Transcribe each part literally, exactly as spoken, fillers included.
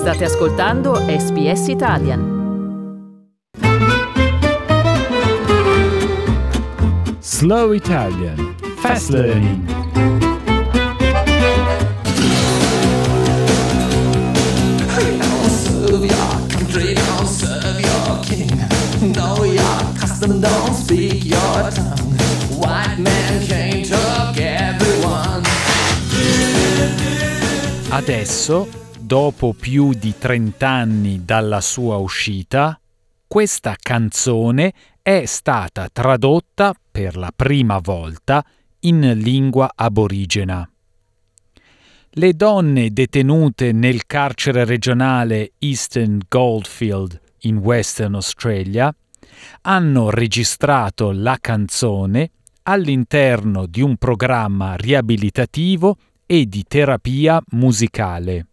State ascoltando S B S Italian. Slow Italian. Fast Learning. Serve your country, don't serve your king. Know your custom, don't speak your tongue. White man came, took everyone. Adesso, dopo più di trent'anni dalla sua uscita, questa canzone è stata tradotta per la prima volta in lingua aborigena. Le donne detenute nel carcere regionale Eastern Goldfield in Western Australia hanno registrato la canzone all'interno di un programma riabilitativo e di terapia musicale.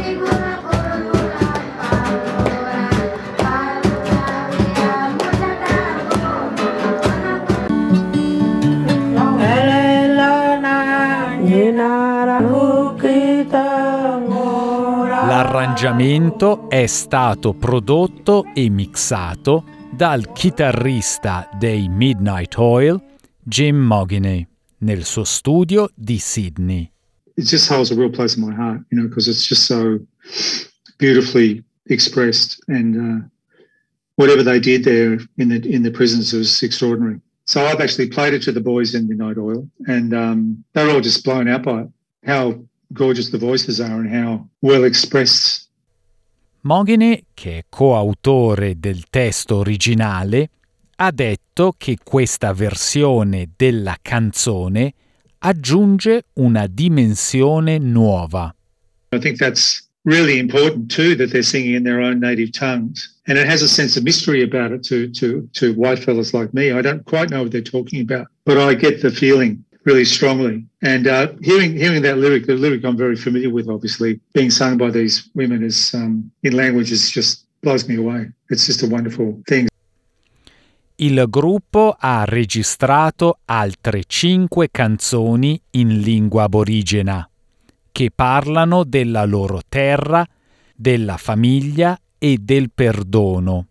L'arrangiamento è stato prodotto e mixato dal chitarrista dei Midnight Oil, Jim Moginey, nel suo studio di Sydney. It just holds a real place in my heart, you know, because it's just so beautifully expressed, and uh, whatever they did there in the in the prisons was extraordinary. So I've actually played it to the boys in Midnight Oil, and um, they're all just blown out by it. How gorgeous the voices are and how well expressed. Moginey, che è coautore del testo originale, ha detto che questa versione della canzone aggiunge una dimensione nuova. I think that's really important too, that they're singing in their own native tongues, and it has a sense of mystery about it to to to white fellas like me. I don't quite know what they're talking about, but I get the feeling really strongly. And uh, hearing hearing that lyric, the lyric I'm very familiar with, obviously, being sung by these women is um, in languages just blows me away. It's just a wonderful thing. Il gruppo ha registrato altre cinque canzoni in lingua aborigena che parlano della loro terra, della famiglia e del perdono.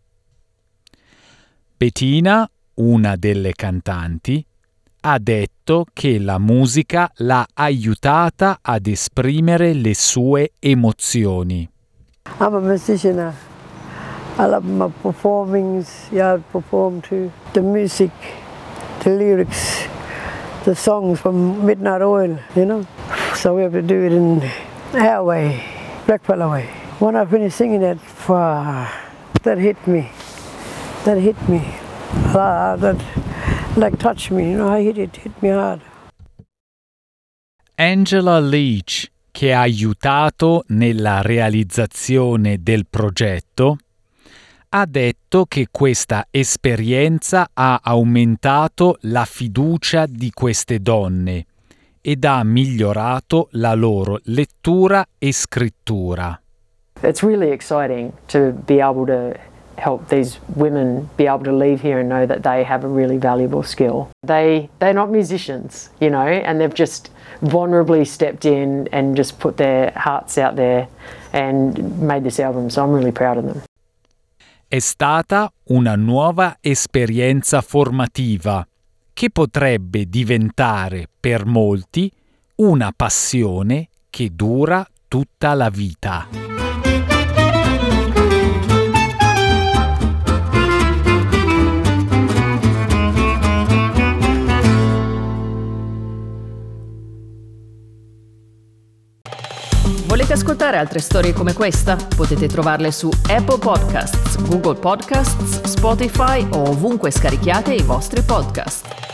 Bettina, una delle cantanti, ha detto che la musica l'ha aiutata ad esprimere le sue emozioni. I'm a musician. I love my performings. Yeah, I perform too. The music, the lyrics, the songs from Midnight Oil, you know. So we have to do it in our way, Blackfella way. When I finished singing that, uh, that hit me. That hit me. Uh, that like touched me, you know. I hit it, hit me hard. Angela Leach, che ha aiutato nella realizzazione del progetto, ha detto che questa esperienza ha aumentato la fiducia di queste donne ed ha migliorato la loro lettura e scrittura. It's really exciting to be able to help these women be able to leave here and know that they have a really valuable skill. They, they're not musicians, you know, and they've just vulnerably stepped in and just put their hearts out there and made this album, so I'm really proud of them. È stata una nuova esperienza formativa che potrebbe diventare per molti una passione che dura tutta la vita. Volete ascoltare altre storie come questa? Potete trovarle su Apple Podcasts, Google Podcasts, Spotify o ovunque scarichiate i vostri podcast.